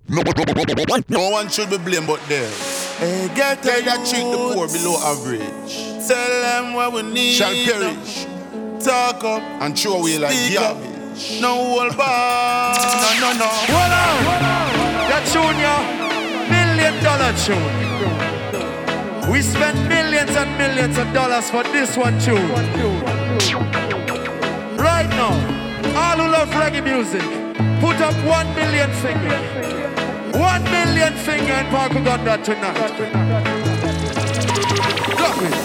No one should be blamed but them. Hey, get They that treat the poor below average tell them what we need. shall perish. Talk up And throw away like speak up. garbage. No hold back. No. Hold on. That tune, yeah. $1 million tune. We spend millions and millions of dollars for this one tune. Right now, all who love reggae music, put up 1 million finger. 1 million finger in Park Uganda tonight. Drop it.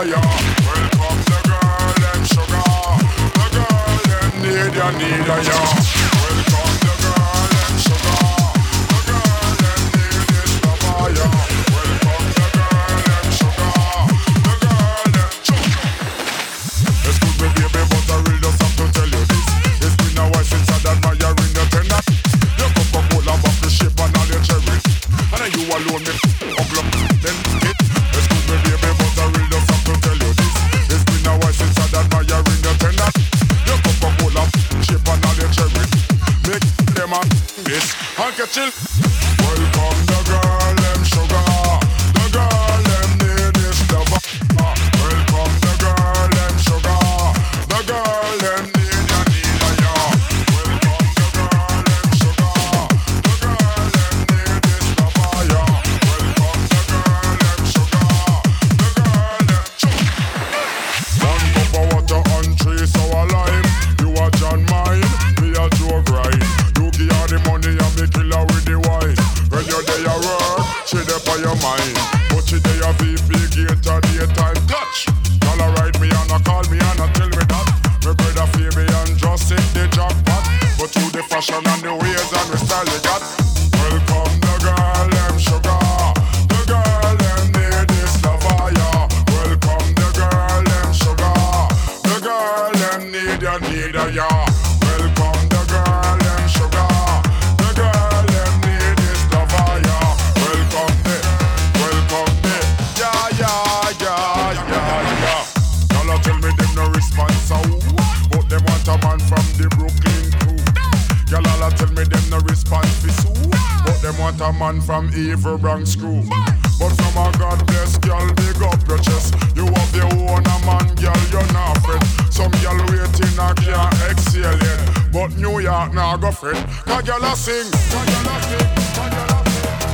ya. Welcome the girl, them sugar. The girl, them need ya, ya. Welcome the girl, them sugar. The girl, them need this lover, ya. Welcome the girl, them sugar. The girl, them sugar. Excuse me, baby, but I really just have to tell you this. It's been a while since I'd admiring your tender. Your Coca-Cola bottle shape and all your cherry. And you alone me up then it. Excuse me, baby, but I really just have to tell you this. It's been a while since I'd admiring your tender. Your Coca-Cola shape and all your cherry. Make them a this and catch it. Welcome the girl, them sugar. The girl, them need this lover. Welcome the girl, them sugar. The girl, them need ya, ya. Welcome the girl, them sugar. The girl, them need this lover, ya. Welcome the girl, them sugar. The girl, them sugar. One cup of water and 3 sour lime. You a John mine, me a Joe grind. You give her the money and me kill her with the wine. When you're there at work, she there for your mind. But she there a VP gate a daytime touch. Y'all a ride me and a call me and a tell me that my brother Fabian just hit the jackpot. But through the fashion and the ways and the style they got. Welcome the girl, them sugar. The girl, them need this lover, yeah. Welcome the girl, them sugar. The girl, them need ya, yeah. Welcome the girl, them sugar. The girl, them need this lover, yeah. Welcome me, yeah, yeah, yeah, yeah, yeah. Y'all tell me them no response, so but them want a man from the Brooklyn crew. Y'all tell me them no response for Sue, but them want a man from Evil Bronx crew. But from a God bless girl, big up your chest. You have your own a man, girl, you're not fret. Some girl waiting a can't exhale yet, but New York now go fret. Cause girl a sing, cause girl a sing, cause girl a sing.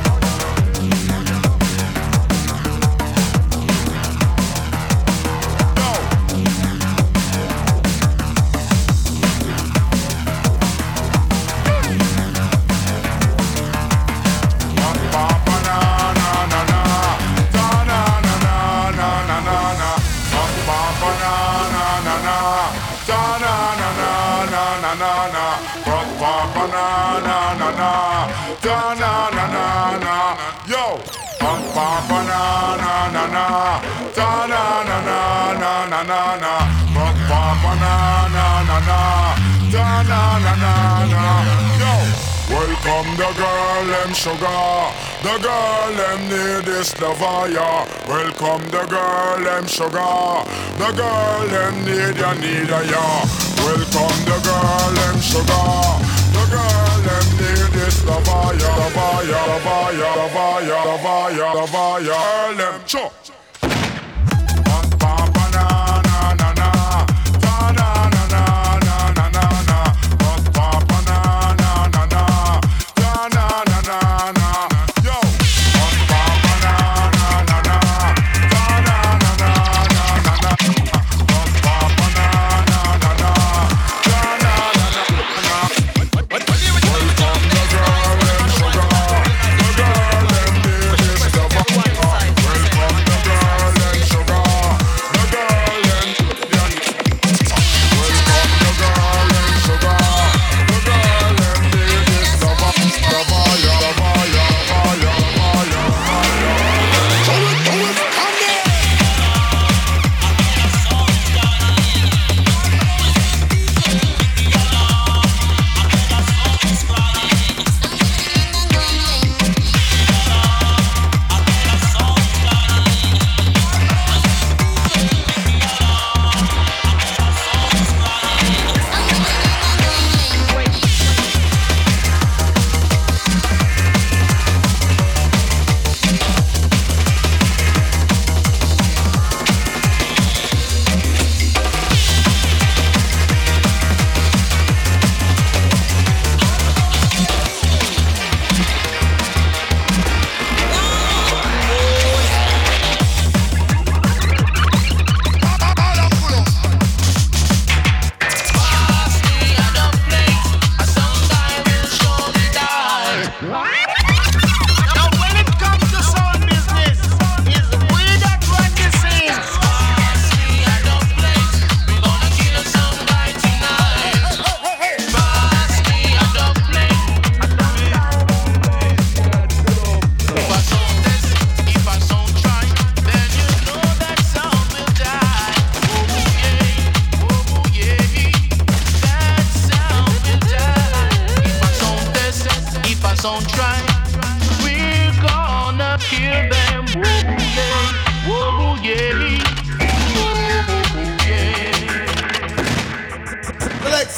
Yo, papa na na na na, ta na na na na na na na, papa na na na na, ta na na na na. Yo, welcome the girl, them sugar. The girl, them need this lover, yeah. Welcome the girl, them sugar. The girl, them need ya, yeah. Welcome the girl, them sugar. The girl, them need this lover, yeah. Lover, yeah, lover, yeah, lover, yeah, lover, yeah, lover, yeah. Girl, them sure. Papa na na na na, ta na na na na na na na. Papa na na na na, ta na na na na. Yo, Papa na na na na, ta na na na na na na. Papa na na na na, ta na na na na. Welcome the girl, them sugar. The girl, them need this lover. Welcome the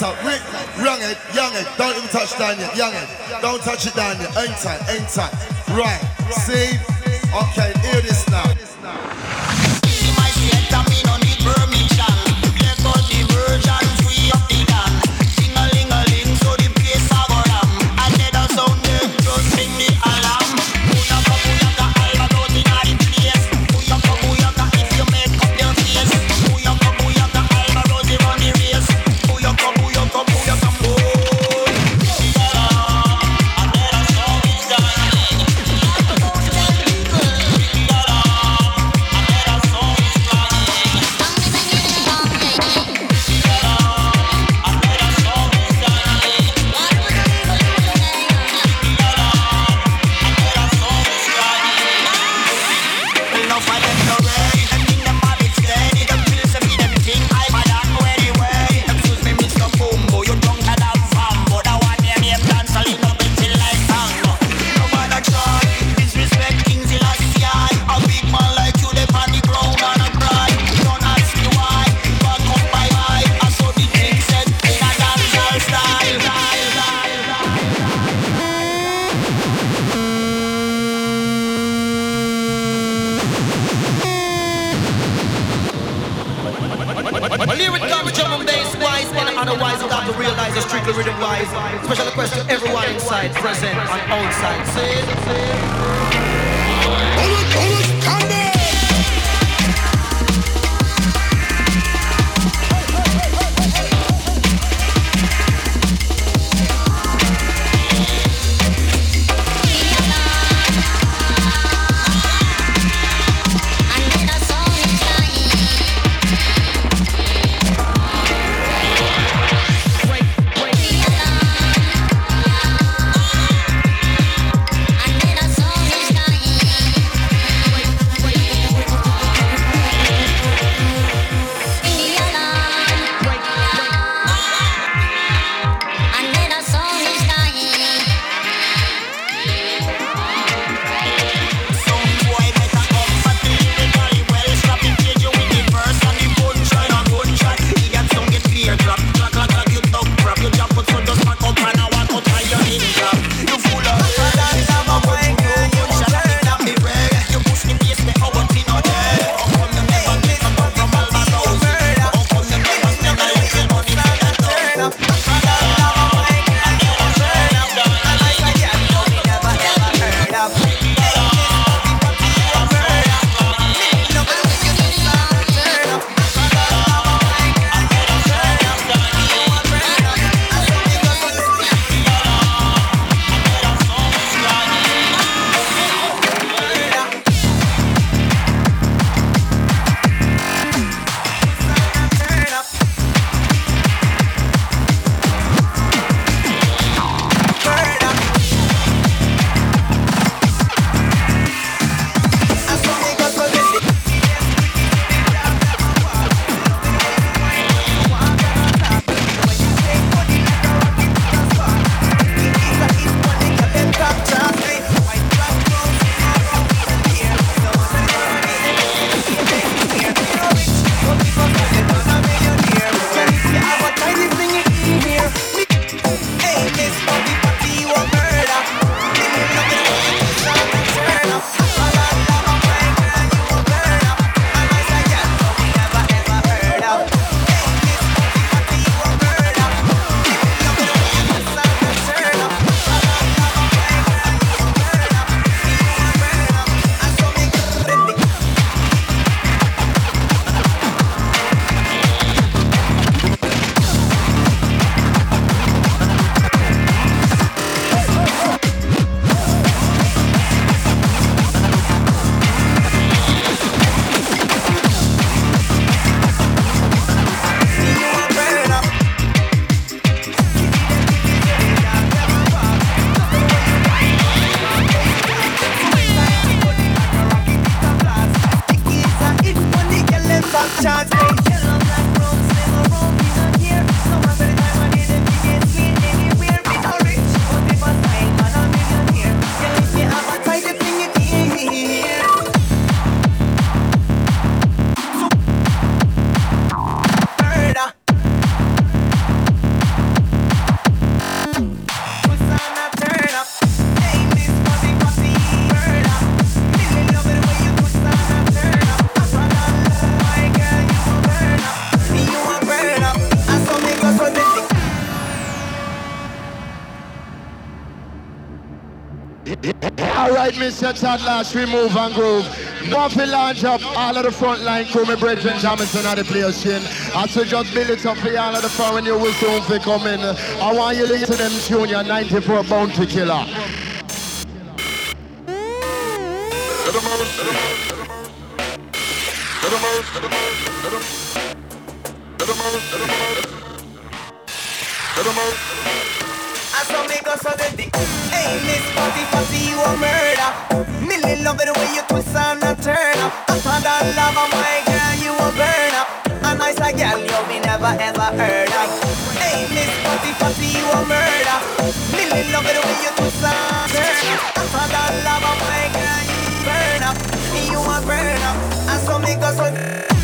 up, young it, don't even touch down yet, young it, don't touch it down yet, ain't tight, right, see, okay, hear this now. My shit, I mean, no need permission. There goes the virgin, free of the gun. Sing-a-ling-a-ling, so the place a go ram. And let us sound them, just ring the alarm. Booyaka, booyaka, albatross inna the place. Booyaka, booyaka, if you make up your face. Booyaka, booyaka, albatross they run the race. Booyaka, booyaka, booyaka, boy. And let us sound it done. Special request to everyone inside, present and outside. See? Alright, Mr. Tadlash, we move and groove. Now if we launch up all of the front line crew, my brethren Jamison at the place, chin. As we just build it up for all of the foreign, you will soon be coming. I want you to listen to them Junior 94 Bounty Killer. I saw me go so the dick. Hey, Miss Fatty, you a murder. Millie love it the way you twist and a turn up. After that love of my girl, you a burn up. A nice a girl you me never ever heard of. Hey, Miss Fatty, you a murder. Millie love it the way you twist and turn up. After that love of my girl, you burn up. You a burn up. I saw me go so.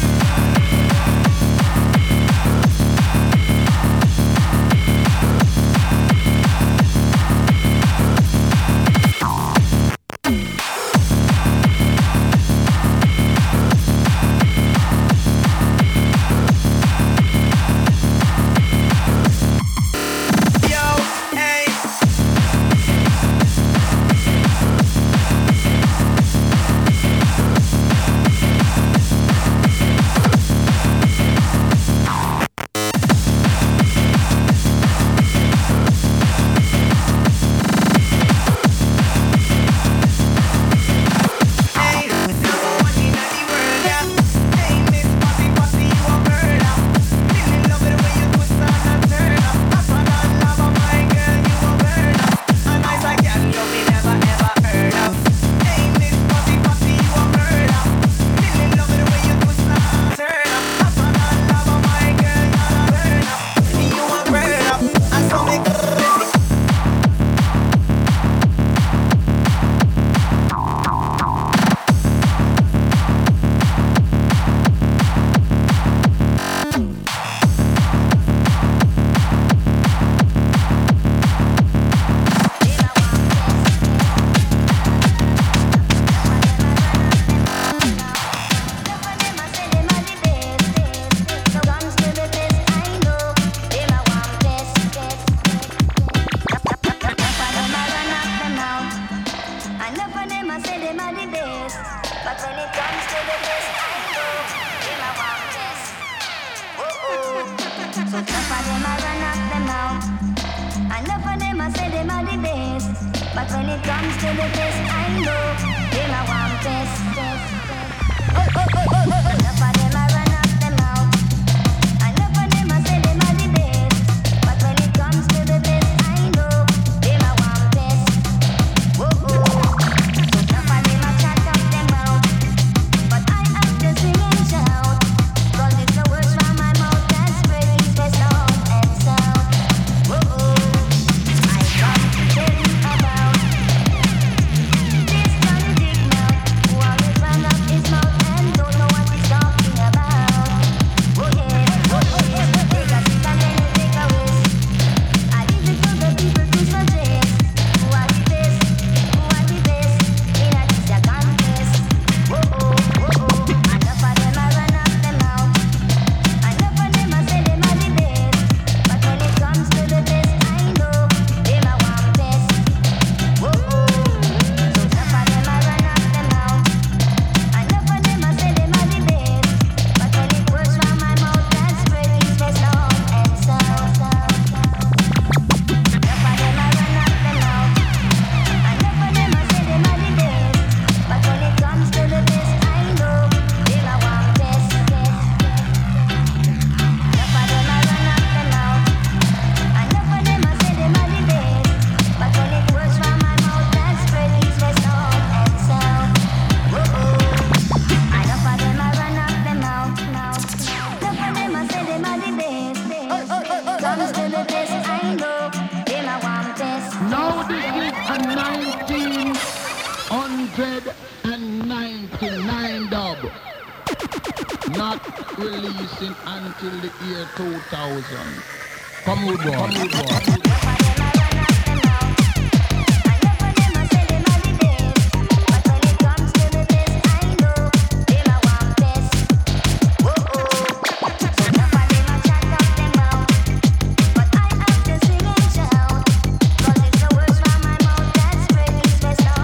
Releasing until the year 2000. Come on, boy. Best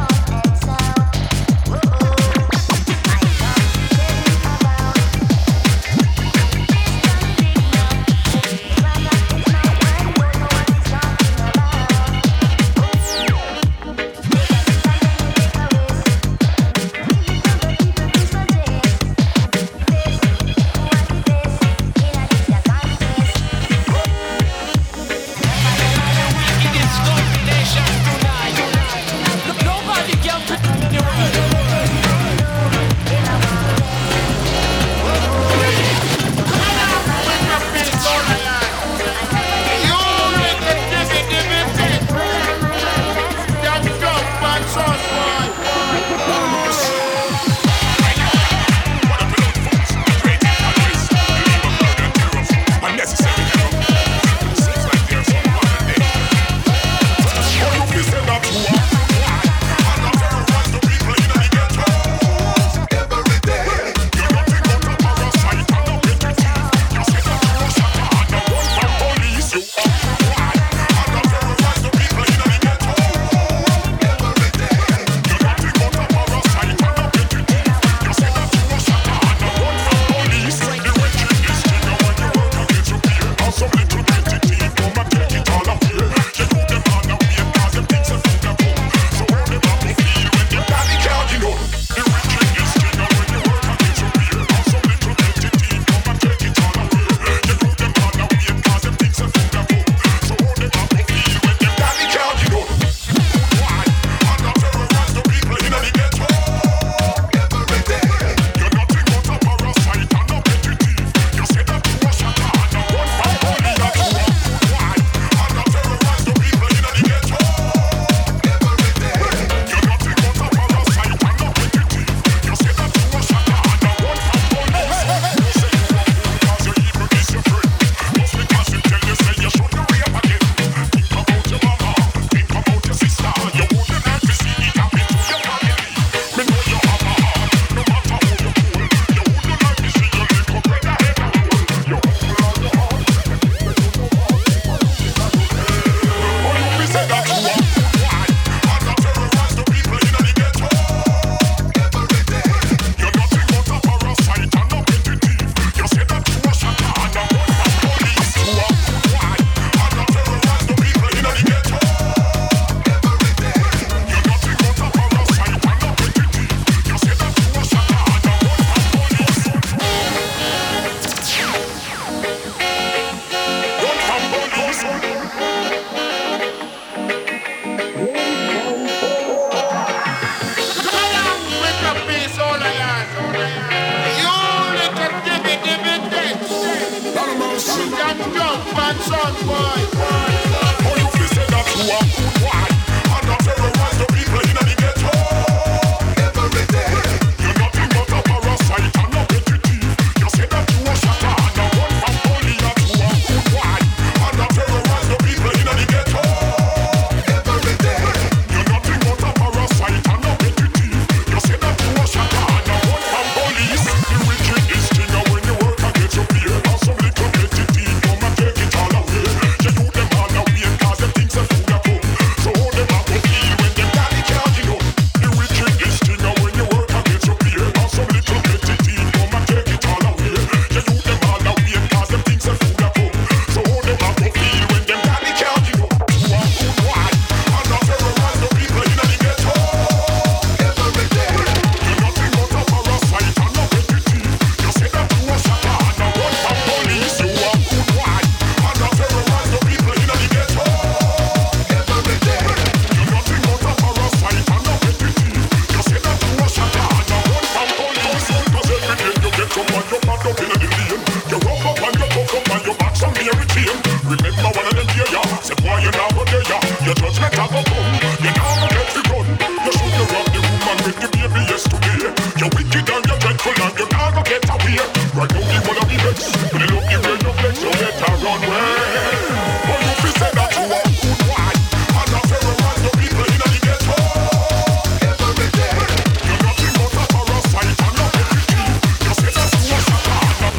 Young man, son boy. Oh, you feel say that you are good, why? And not terrorize the people in the ghetto. Every day. You're nothing but a parasite and a petty thief. You say that you are shatter and a run from police. That you are good, why? And not terrorize the people in the ghetto. Every day. You're nothing but a parasite and a petty thief. You say that you are shatter and a run from police. The wicked is thing when you work and get your pay. Now some little petty thief come and take it all away. You do them all away cause them things are full of fun. So hold them up to feel when them daddy can't get up. The wicked is thing when you work and get your pay. Now some little petty thief come and take it all away. You do them all away cause them things are full of fun. So hold them up to feel when them daddy can't get up. You are good why? And not terrorize the people in the ghetto. Every day. You're nothing but a parasite and a petty thief. You say that you are shatter and a run from police. You are good why? And not terrorize the people in the ghetto. Every day. You're nothing but a parasite and a petty thief. You say that you are shatter and a run from police. Cause every day you get up and you pad up in the lane. You rough up and you puff up and you back some Mary Jane. Remember one of them here, ya. Say boy you now go there, ya. Your judgment have a come. You now go get the gun. You should have robbed the woman with the baby yesterday. You wicked and you dreadful and you now go get away. Right now you wanna be vexed. When you look the way you flex, you better run away. But you feel say that you are good, why? And not terrorize the people in the ghetto. Every day. You're nothing but a parasite and a petty thief. You say that you are shatter and a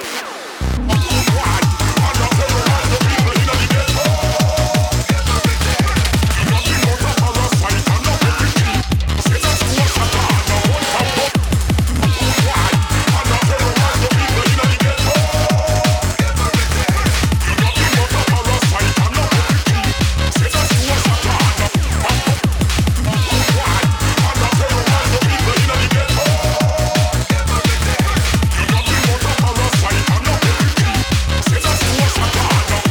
good why? And not terrorize the people in the ghetto. Every day. You're nothing but a parasite and a petty thief. You say that you are shatter and a run from police. Why? And not terrorize the people in the ghetto. Every day. You're nothing but a parasite and a petty thief. Say that you are shatter and a why? And not terrorize the people in the ghetto. Every day. You're nothing but a parasite and a petty thief. Say that you are shatter and a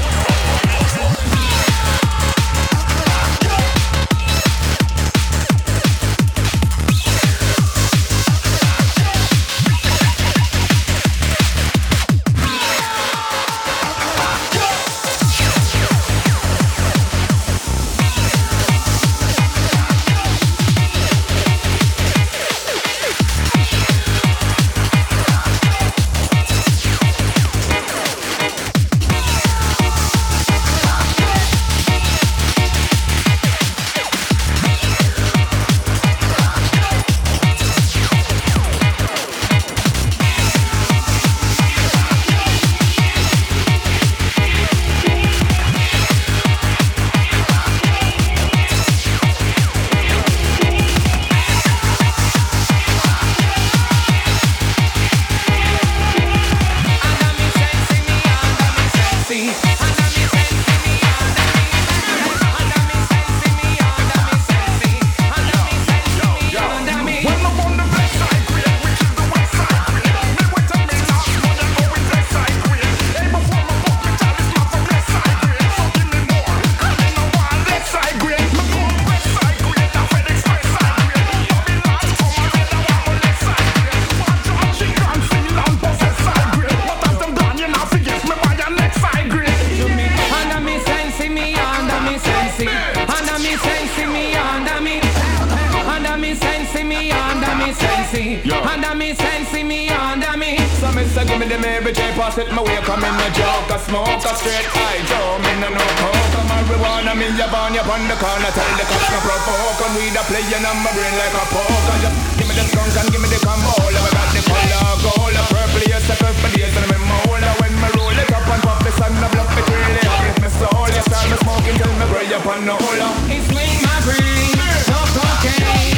Under me, sense me, under me. So me say give me the Mary J, pass it my way. Come in the joke, a smoke, a straight eye Joe, me no coke. Come marijuana, me ya burn you on the corner. Tell the cops no provoke. And we da playing on my brain like a poker. Just give me the skunk and give me the combo. We got the color gold, a purple, yes, a purple, yes, and I'm mold. When me roll it up and pop the sun, I bluff it really hot. If me soul, yes, I'm smoking till me pray upon the hole. It's swing my brain, no cocaine.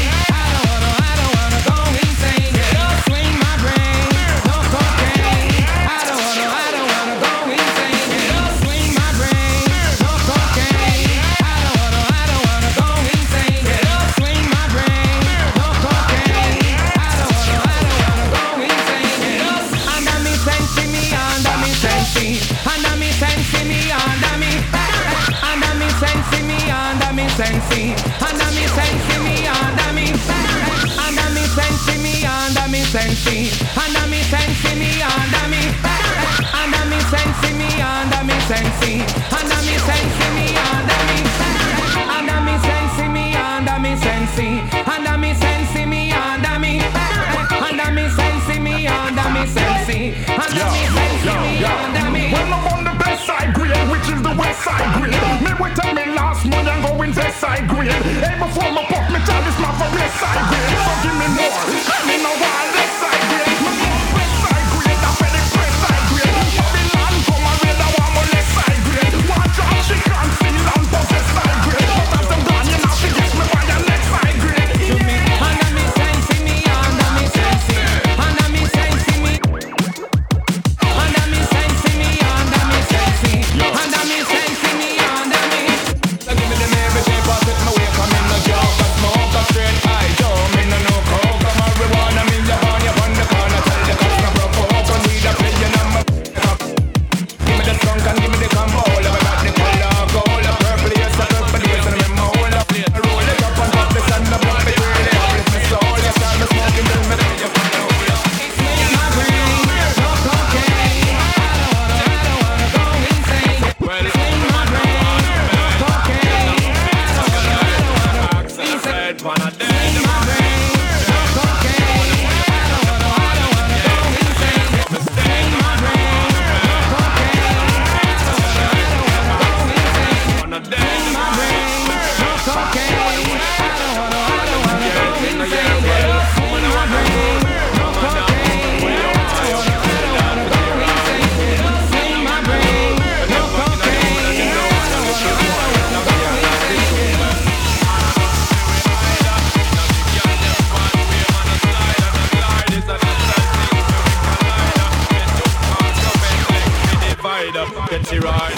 Under me, sense me, under me, under me, sense me, under sensi, under me sensi, me under me, under me sensi, me under me sensi, under me sensi, me under me, under me sensi, me under me sensi, under me sensi, me under me. Well, I'm on the best side grade, which is the west side grade. Me wait till me last month and go in west side grade. Hey, before my pop me chalice, my for west side grade. So give me more, give me no wild left side grade. Me want west side grade, that's where the west side grade. Babylon come and raid, I want more left side grade. One drop, she can't feel and possess side grade. But as them gone, you know, she gets me by your left side grade. Under me sensi, me under me sensi, under me sensi, me under me sensi, me under me sensi, under me sensi, me under me. So give me the every day, pass it my way, come in the joke, I smoke, I straight eye, Joe, me no coke, I'm marijuana, me your on the corner, tell the cops no provoke, I need a play your number. Give me the skunk and give me the combo, I got the color, gold, purple, yes, I purple, yes, and I'm all up, I roll it up on top, the sun, the blood, the girl, the uplift my soul, yes, I'm the smoking, then me the it's me in my brain, no cocaine, I don't wanna go insane, well, it's in my brain, no cocaine, I don't wanna go insane, it's in my brain, no cocaine, I don't wanna go insane, it's in my brain, no cocaine, I don't wanna go insane, in my brain, no cocaine, I don't wanna go insane, in my brain, no cocaine, I don't wanna go insane, in my brain, no Get you right.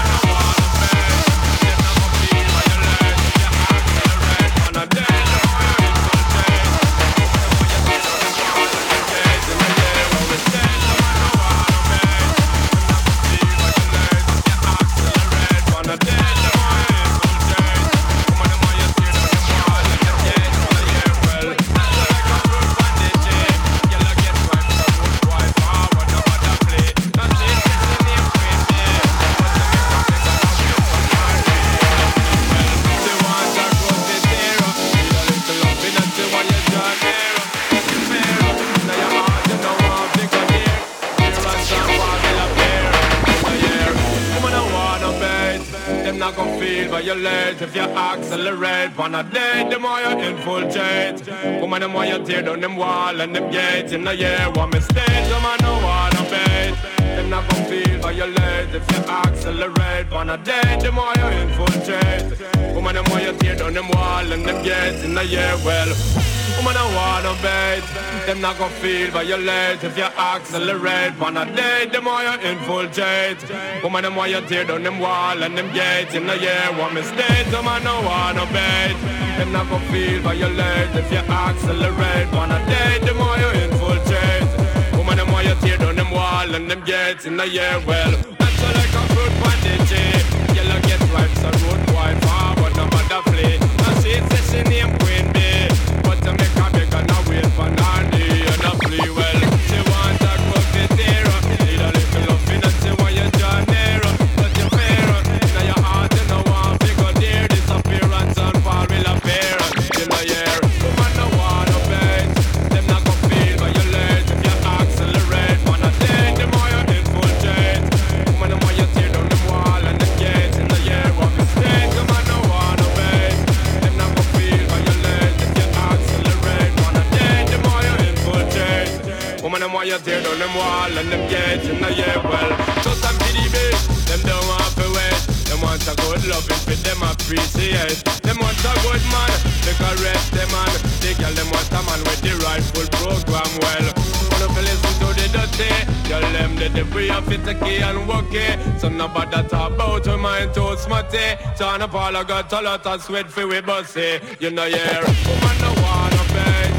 If you accelerate, wanna date, the more you infiltrate. Woman, the more you tear down them wall and them gates. In the year, one mistake, the man no wanna bait. Them not gon' feel violate if you accelerate. Wanna date, the more you infiltrate. Woman, the more you tear down them wall and them gates. In the year, well, woman, I wanna bait. Them not gon' feel violate if you accelerate. Wanna date, the more you infiltrate. Woman, the more you tear down them wall and them gates. In the year, one mistake, the man no wanna bait. Them not gon' feel violate if you accelerate. Wanna date, the more you infiltrate. Woman, the more you tear down them wall and them gates. In the year, well, that's like a fruit bandage. Yellow get ripe, so road wide forward, no matter play. And she says she name Queen Bee. To make a big and a wait for Nanny and a free well. She want a good zero. Need a little loving and she want you John Nero. But you fair. Now your heart you know one figure dear. Disappearance and fall will appear. In the year, woman no wanna bait. Them not gon' feel violate if you accelerate. Wanna date, the more you infiltrate. Woman the more you tear down the wall and the gates. In the year, one mistake. Woman no wanna bait. Them not gon' feel violate if you accelerate. Wanna date, the more you infiltrate. Woman, them want you tear down them wall and them gates in the year, well. Just some PDB, them don't want to wait. Them want a good loving for them appreciate. Them want a good man, they caress them man. They girl them want a man with the rightful program, well. Wanna feel listen to the dirty, tell them that the free of it key and work it. So nobody talk about your mind too smutty. John Paul I got a lot of sweat for we bossy. You know, yeah, woman no wanna pay.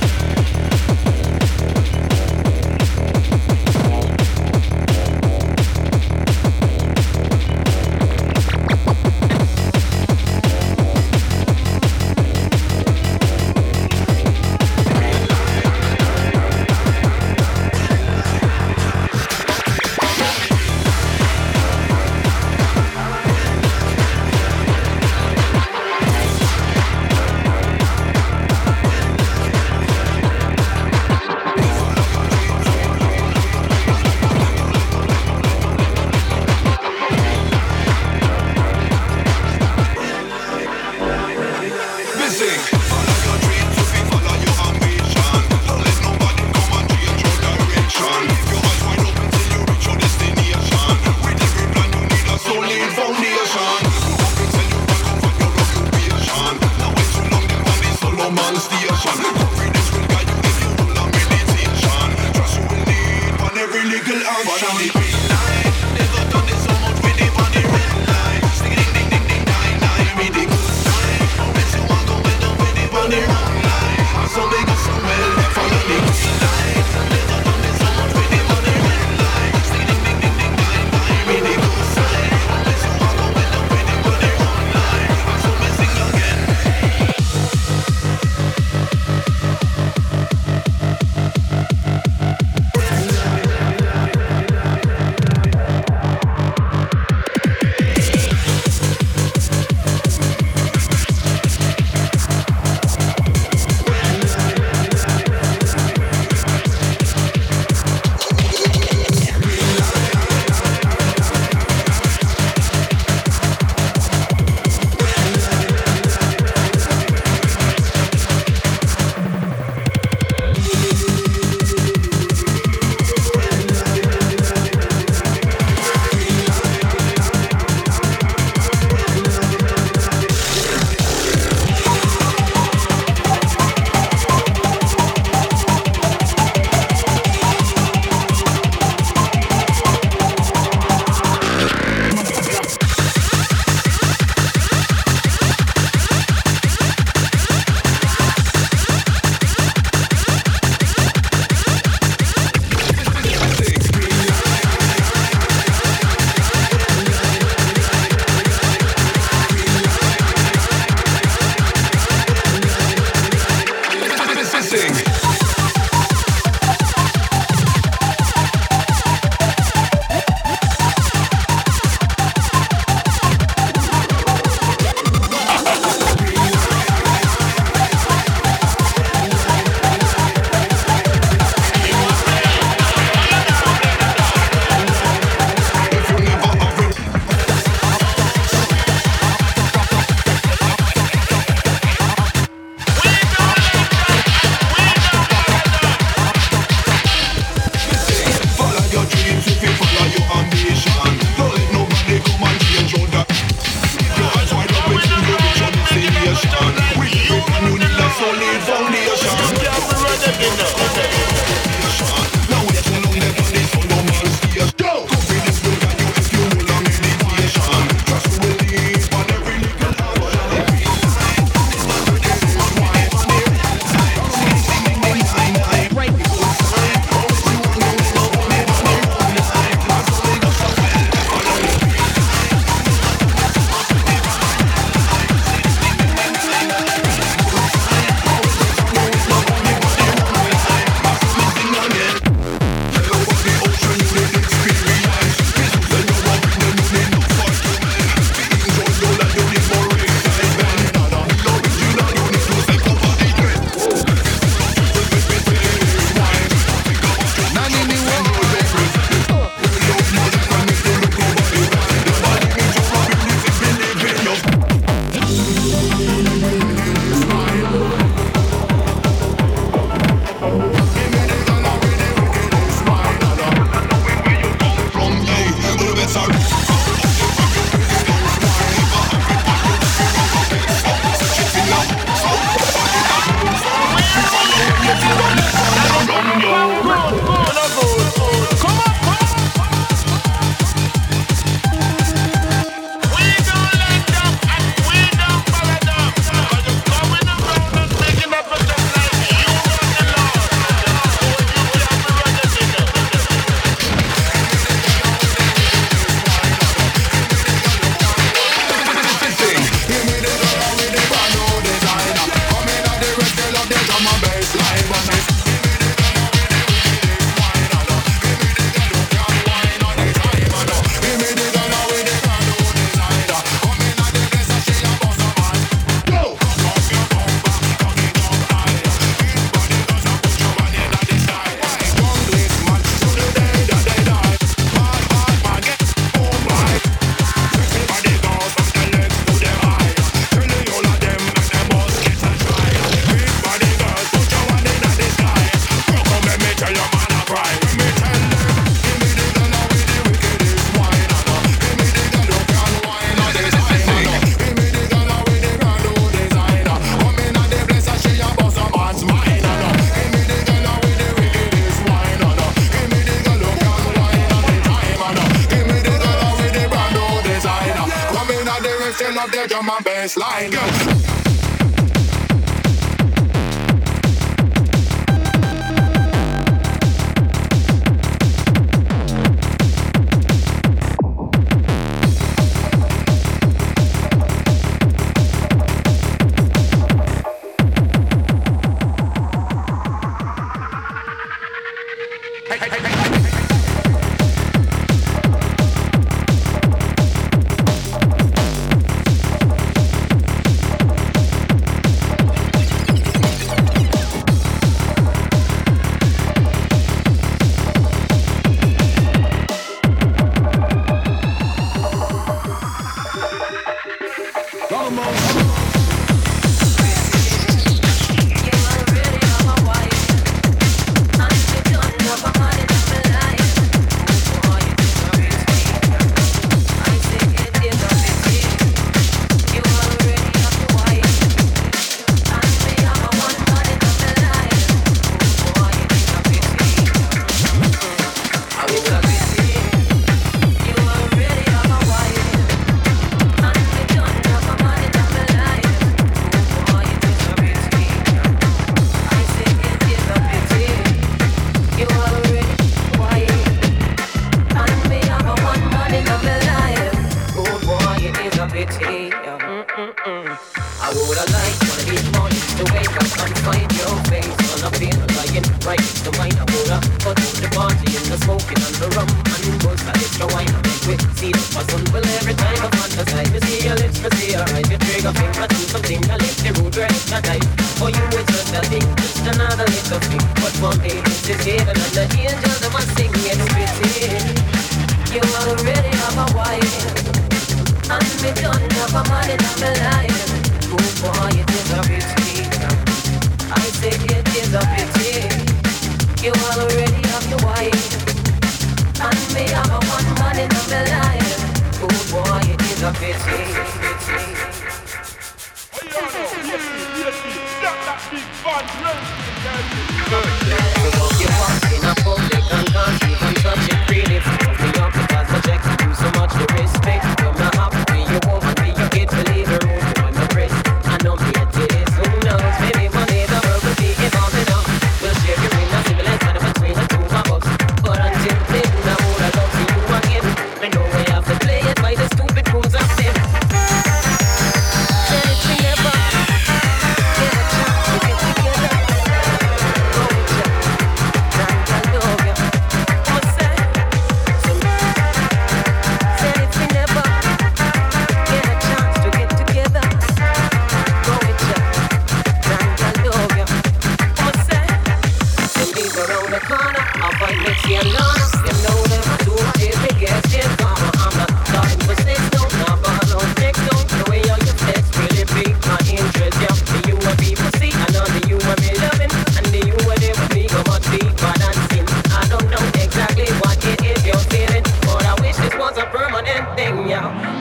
of the drum and bass line.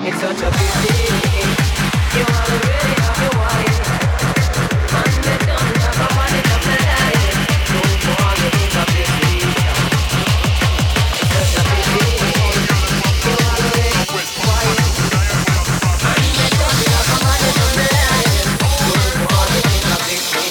It's such a pity. You already have your wife, and they don't have a money to play. Don't fall into pity. It's such a pity. You already have your wife, and they don't have a money to play. Don't fall into pity.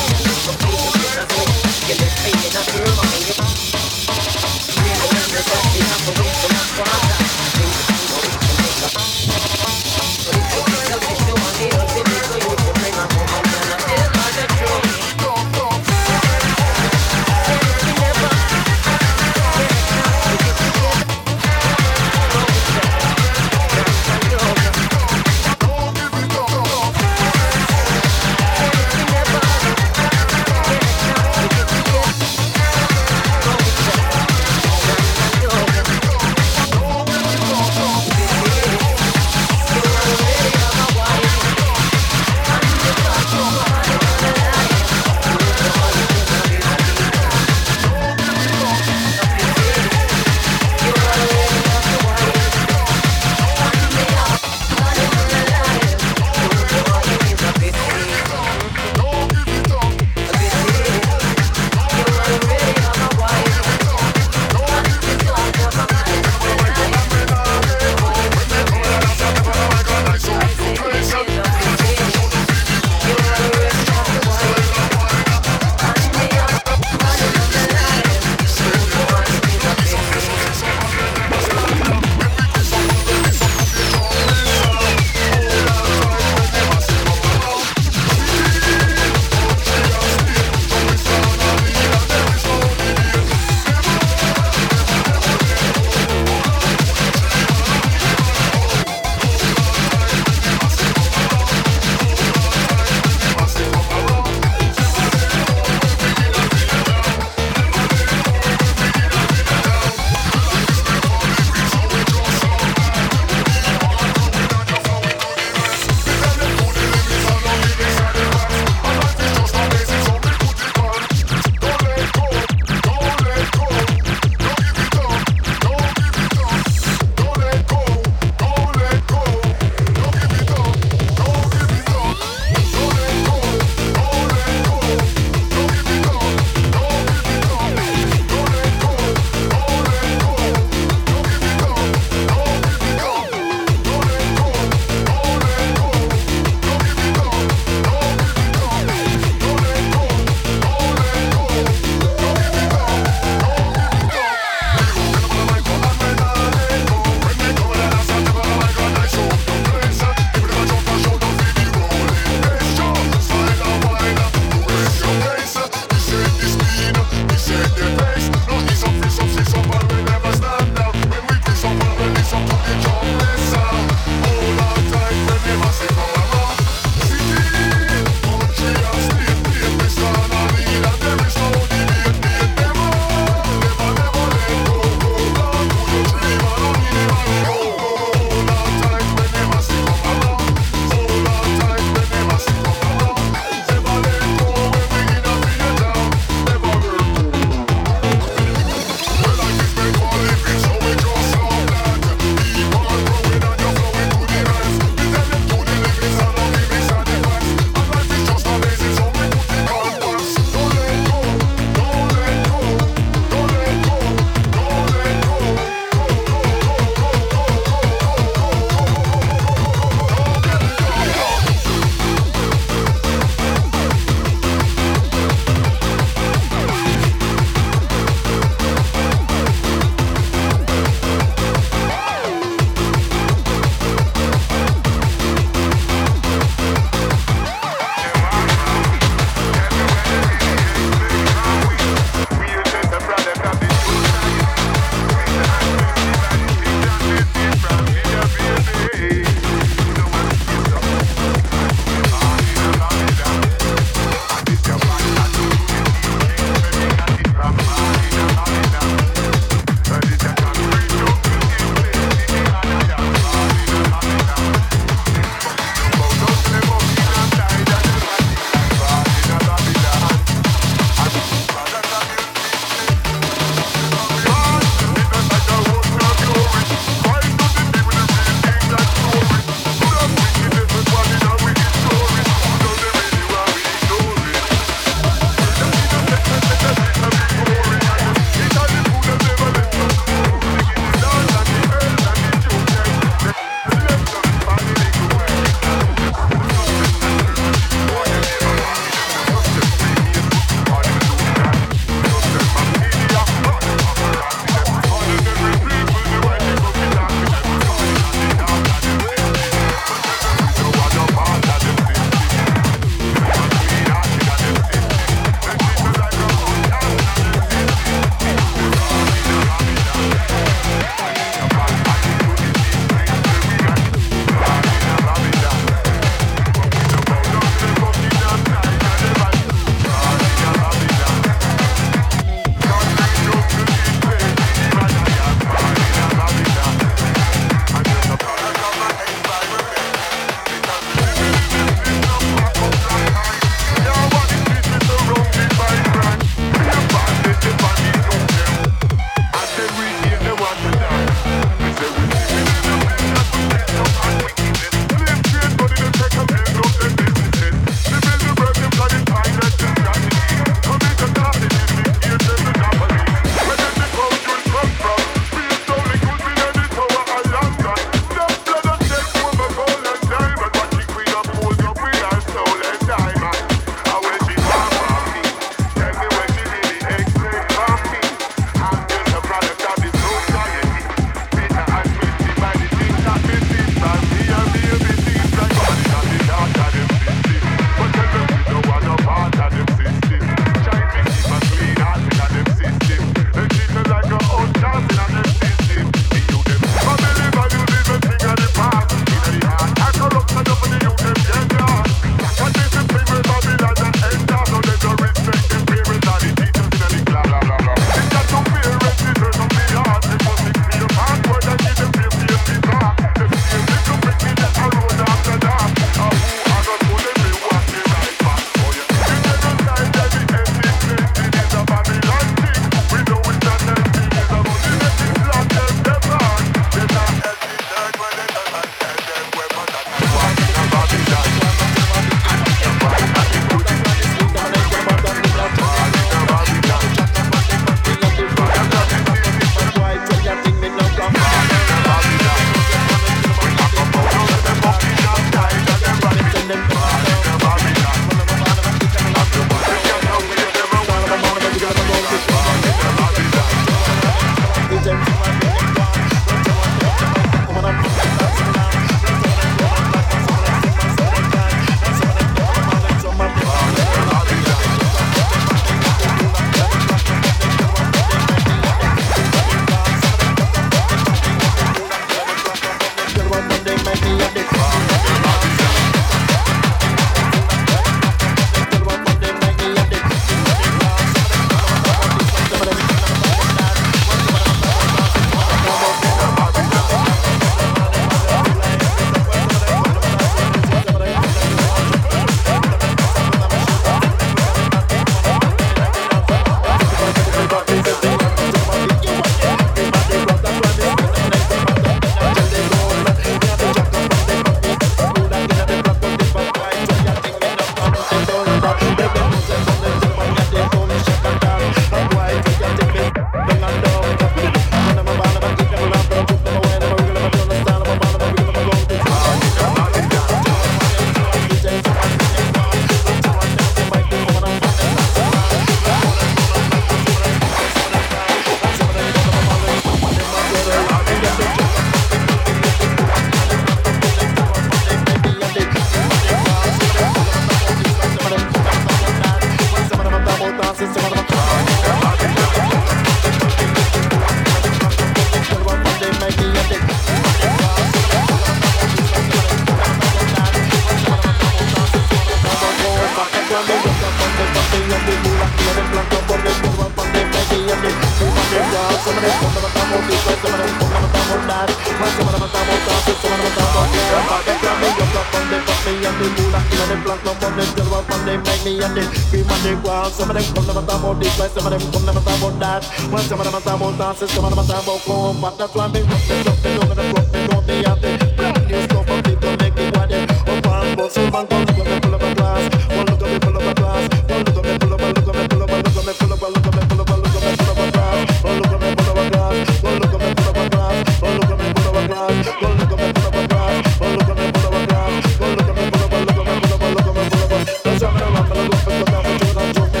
Some of them come never talk about this, like some of them come never talk about that. When some of them talk about dances, some of them talk about come. But that's why me rock the stuff, they know me rock, they know me have it. Brand new stuff, and people make it what they. Up and bust, some man come look at me full of a glass. One look at me full of a glass. One look at me full of a, look at me full of a, look at me full of a, look at me full of a, look at me full of a glass. One look at me full of a glass. One look at me full of a glass. One look at me full of a glass. One look at me full of a glass. One look at me full of a glass. One look at me full of a, look at me full of a, look at me full of a. That's why me the rap and I look for good and for Jordan joke.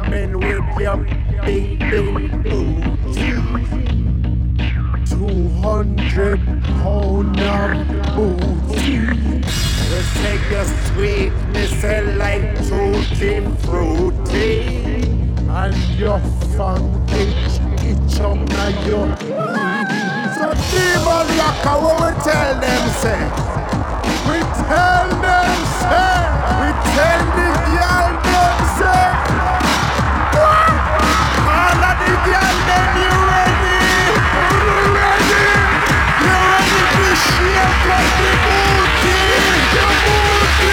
coming with your big booty. 200 pound of booty. Let's take your sweetness and like tutti frutti. And your funky itch up now your. So demon locker, what we tell them say? We tell them say. We tell the girl them say. What? All of the girl them you ready? You ready? You ready to shake up the booty? The booty.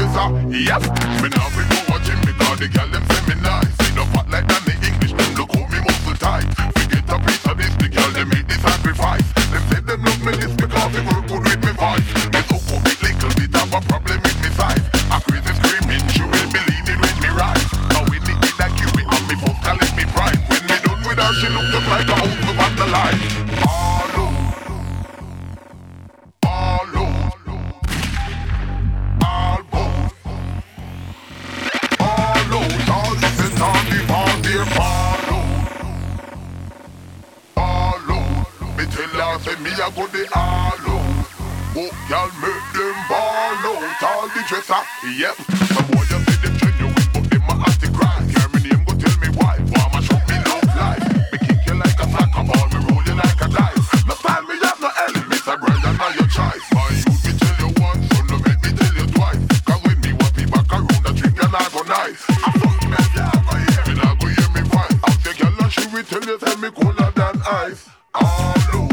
dresser. Yep, me now we go watching because the girl them say me nice. See no fat like that the English, them look how me muscle tight. Forget a piece of this, the girl them make the sacrifice. Them say them love me this because they work good with me voice. They so come with little bit of a problem with me size. A crazy screaming, she will believe it when me rise. Now we need it like you and me fuck calling me pride. When me done with her, she look just like a house of vandalize. Say me a go the all out. Oh, y'all make them ball out. All the dresser, yep. Some boy you say them genuine, but them a antichrist. Hear me name, go tell me why. Why ma show me love life? Me kick you like a soccer ball, me roll you like a dice. No time me have no enemies, a brother now your choice. My youth me tell you once, so no make me tell you twice. Cause when me want be back around, the drink and I go nice. I fuck me, yeah, go hear me, now go hear me voice. Out the girl and she will tell you, tell me cooler than ice. All out.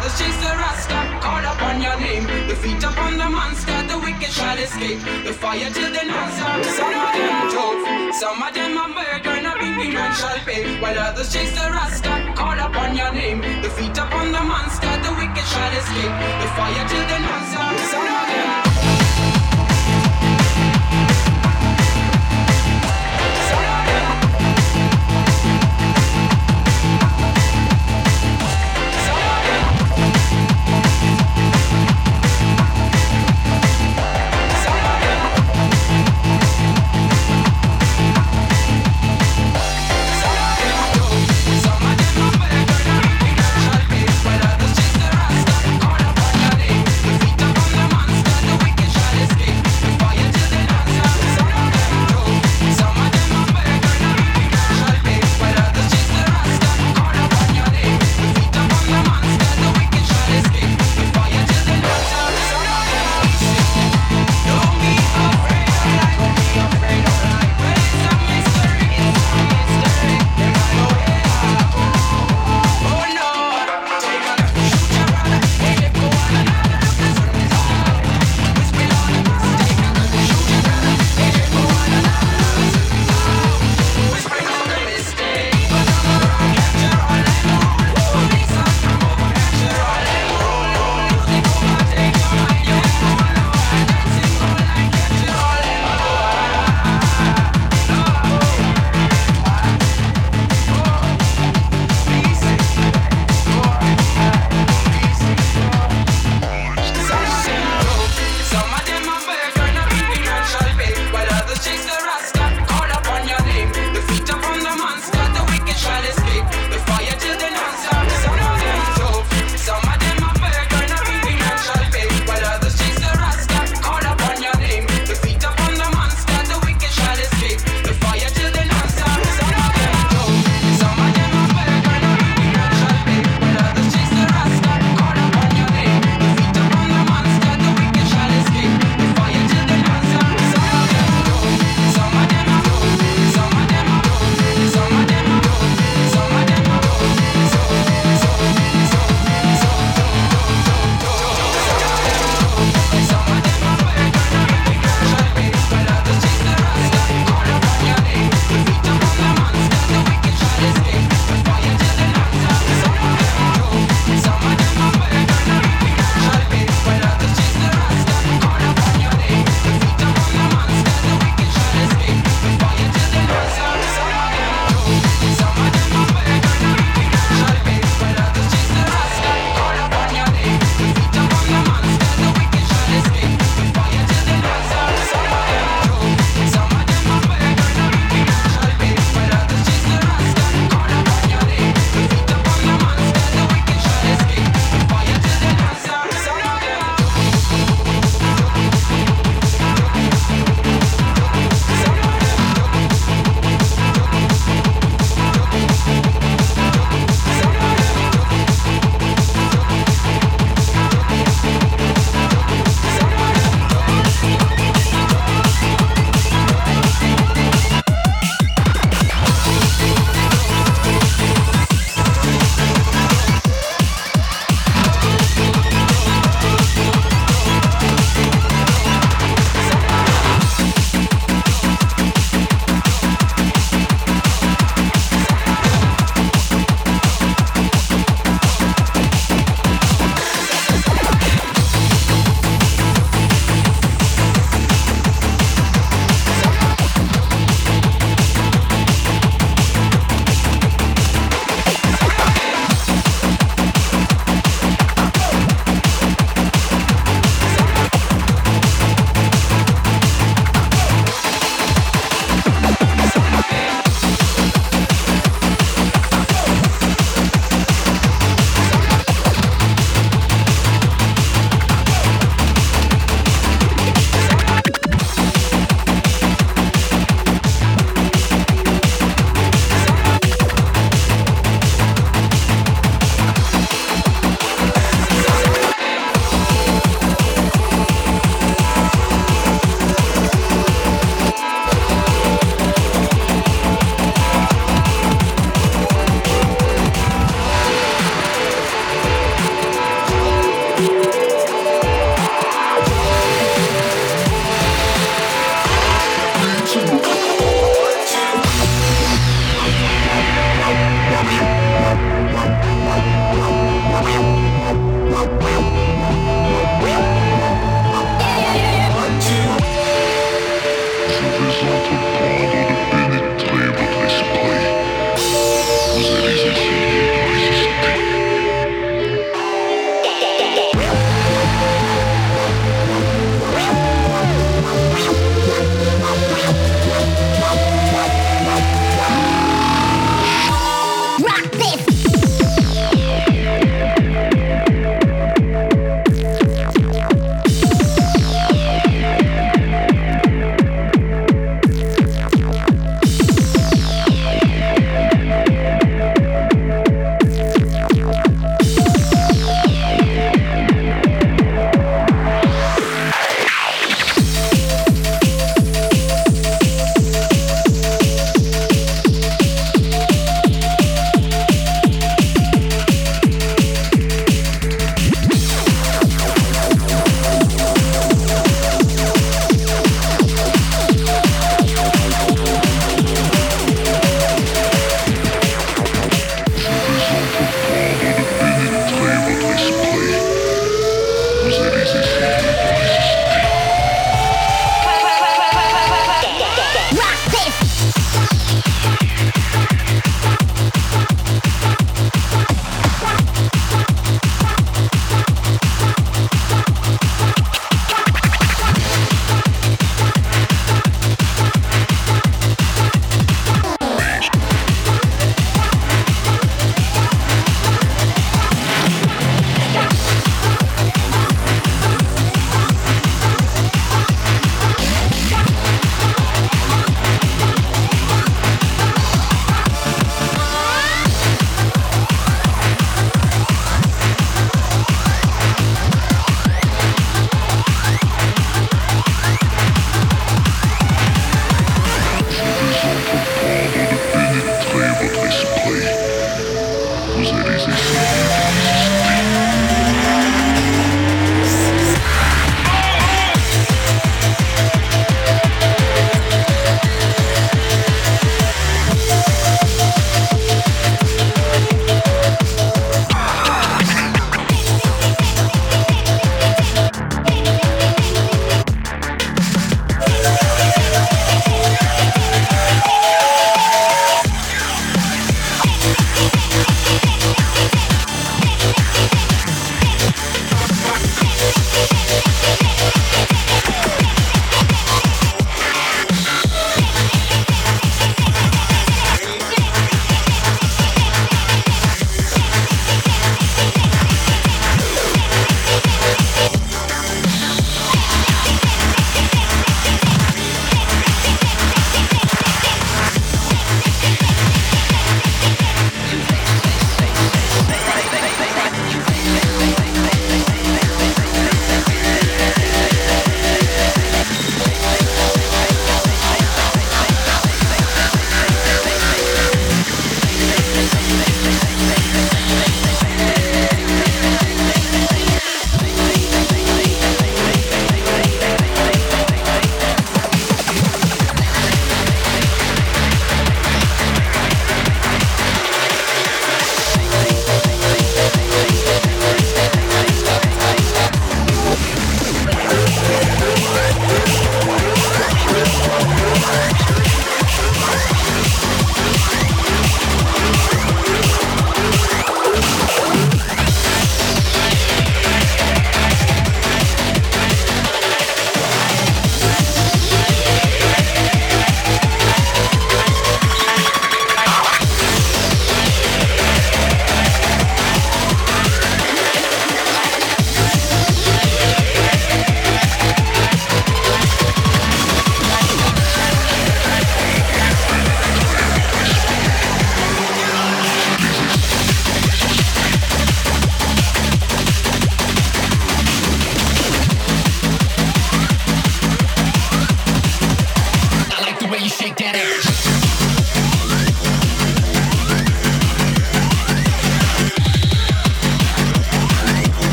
others chase the Rasta, call upon your name. The feet upon the monster, the wicked shall escape. The fire till the answer. Some of them tough, some of them are murder, and a big man shall pay. While others chase the Rasta, call upon your name. The feet upon the monster, the wicked shall escape. The fire till the answer. Some of them. Feet up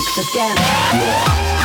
the dance.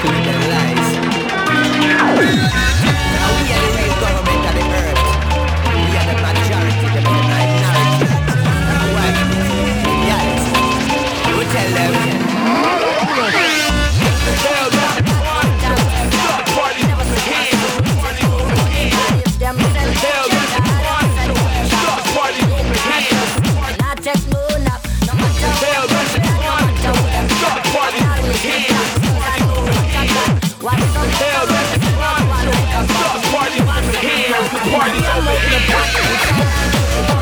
manipulate their lives. And we are the real government of the earth. We are the majority, the minority. What? Yes. We tell them. Tell them. Stop party. Tell them. Stop party. Not take no nap. No matter Tell them. Stop party. Tell them. Stop party. Party over here.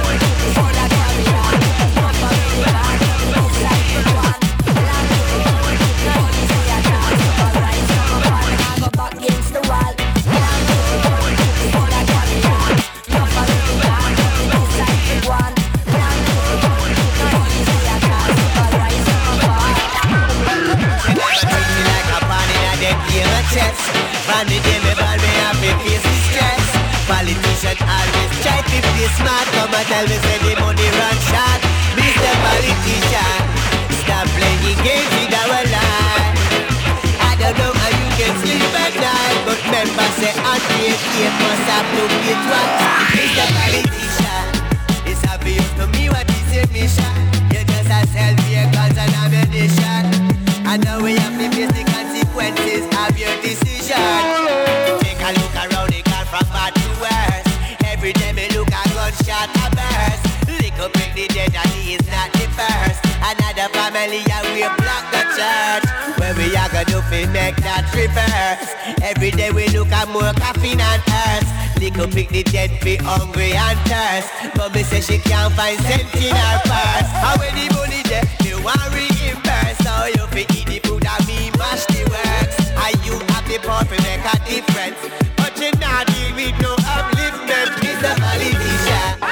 From the day me born, me have to face the stress. Politician always try to be smart. Come and tell me say the money run short. Mr. Politician, stop playing games with our life. I don't know how you can sleep at night, but members say unpaid it must have to pay twice. Mr. Politician, it's obvious to me what is your mission. You just a sell vehicles and ammunition, and now we have to face the consequences of your decision. Take a look around the car from bad to worse. Every day me look a gunshot a burst. Lick up in the dead and he is not the first. Another family and we block the church. Where we are gonna do fi make that reverse. Every day we look at more caffeine and earth. Lick up in the dead be hungry and thirst. But me say she can't find cent in her purse. How when the money there, me want reimburse. So you fi eat the food and me mash the works. And you have the power to make a difference. But you not deal with no upliftment, Mr. Politician.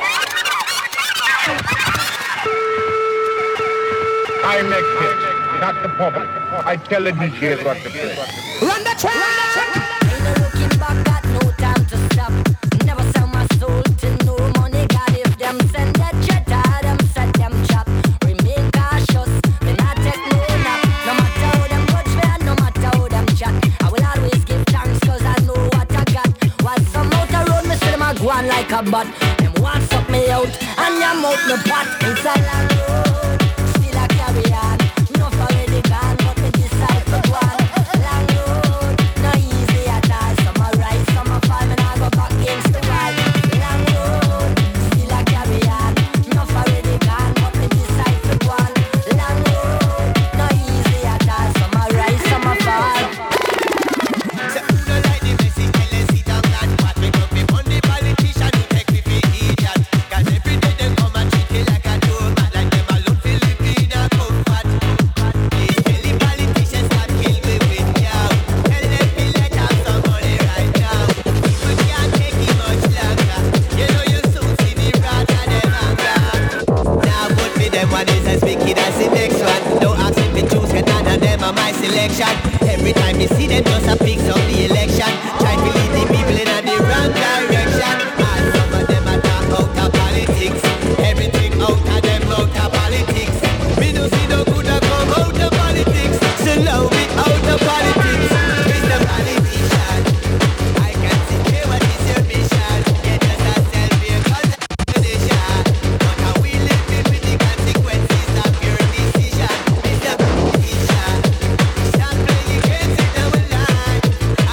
I make it, not the public. I tell the DJs what to play. Run the track! Ain't no looking back, got no time to stop. Never sell my soul to no money. God, if them send that jet, them set them chop. Remain cautious, me not take no nap. No matter how them touch me, and no matter how them chat, I will always give thanks cause I know what I got. While some out the road, me see them a go on like a butt. Them want suck me out, and them out the pot. Inside long road, still I carry on. No already gone, but me decide to go on. Long road, no easy at all. Some are right, some are fall, and I go back against the wall. Long road, still I carry on. No already gone, but me decide to go on. Long road, no easy at all. Some are right, some are fall. So who don't like the message, tell them sit down and what. We come be on the politician who take me for idiot. Cause every day they come and treat me like a doormat. Like them alone Filipina comfort. Please tell the politicians stop kill me with cow. Tell them to let out some money right now. We can't take it much longer. You know you soon see the wrath of them anger. Now vote for them one is as wicked as the next one. Don't ask if me choose, cause none of them are my selection. Every time you see them just a fix up the election. Try to lead the people in the wrong direction. And some of them are talk out of politics. Everything out of them out of politics. Me no see no good a come out of politics. So love me out of politics. Mr. Politician, I can see what is your mission. Get us a self-vehicle condition. But how we live with the consequences of your decision. Mr. Politician, stop playing games in our life.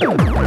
Hey.